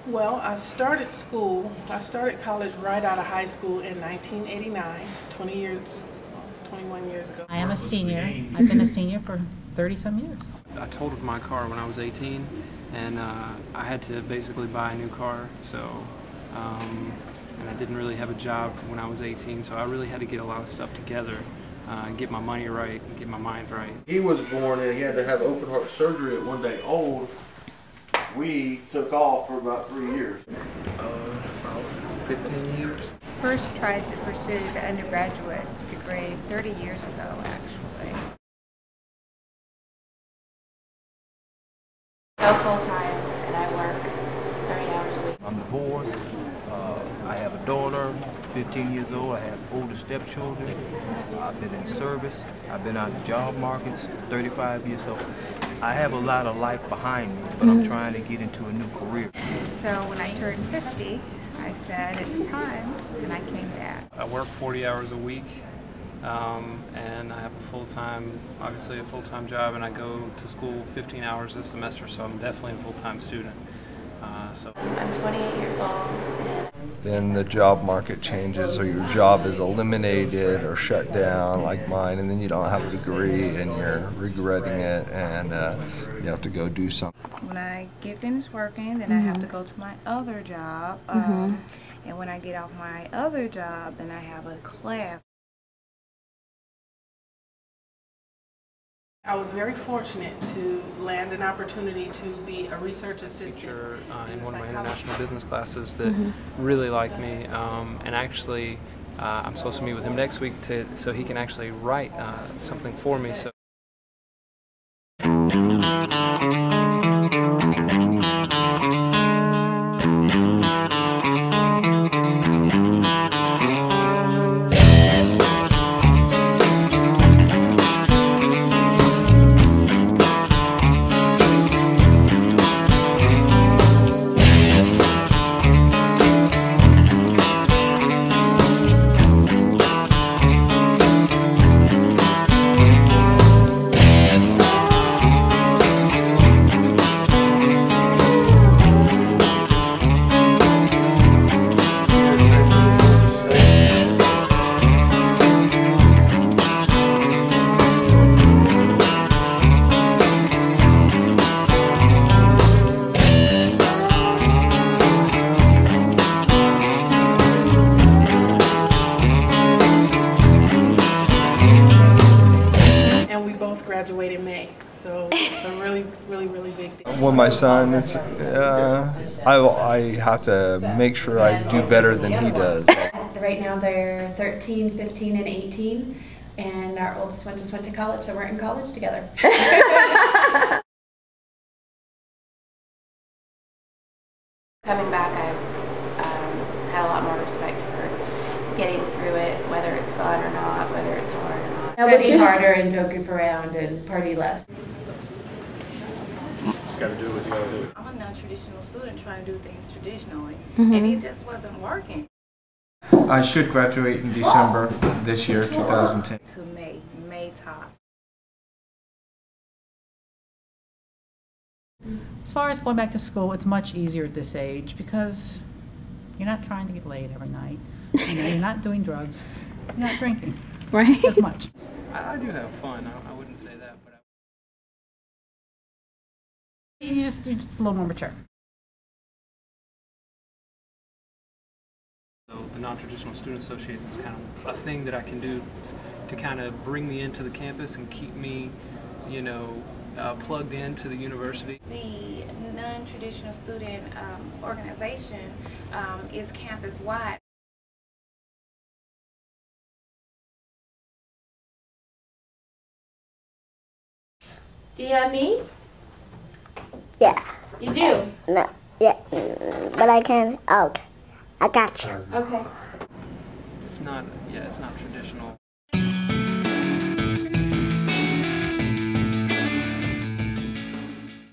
Well, I started college right out of high school in 1989, 21 years ago. I am a senior. I've been a senior for 30-some years. I totaled my car when I was 18, and I had to basically buy a new car. And I didn't really have a job when I was 18, so I really had to get a lot of stuff together, get my money right, and get my mind right. He was born and he had to have open heart surgery at 1 day old. We took off for about 3 years. About 15 years. First tried to pursue the undergraduate degree 30 years ago, actually. Go full-time, and I work 30 hours a week. I'm divorced. I have a daughter, 15 years old. I have older stepchildren. I've been in service. I've been out in job markets 35 years. So I have a lot of life behind me, but I'm trying to get into a new career. So when I turned 50, I said, it's time, and I came back. I work 40 hours a week, and I have obviously a full-time job, and I go to school 15 hours this semester, so I'm definitely a full-time student. I'm 28 years old. Then the job market changes, or your job is eliminated or shut down like mine, and then you don't have a degree and you're regretting it, and you have to go do something. When I get finished working, then I have to go to my other job. And when I get off my other job, then I have a class. I was very fortunate to land an opportunity to be a research assistant. Teacher in one of my international business classes that really liked me, and actually I'm supposed to meet with him next week so he can actually write something for me. So. Graduated in May, so it's a really big deal. When my son, I have to make sure I do better than he does. Right now they're 13, 15, and 18, and our oldest one just went to college, so we're in college together. Coming back, I've had a lot more respect for getting through it, whether it's fun or not, whether it's hard or not. Study harder and don't goof around and party less. Just got to do what you got to do. I'm a non-traditional student trying to do things traditionally, and it just wasn't working. I should graduate in December this year, 2010. To May tops. As far as going back to school, it's much easier at this age because you're not trying to get laid every night. You're not doing drugs. You're not drinking. Right. As much. I do have fun. I wouldn't say that, but You're just a little more mature. So the Non-Traditional Student Association is kind of a thing that I can do to kind of bring me into the campus and keep me, plugged into the university. The non-traditional student organization is campus-wide. Do you have me? Yeah. You do? No. Yeah. But I can. Oh, I got you. Okay. It's not traditional.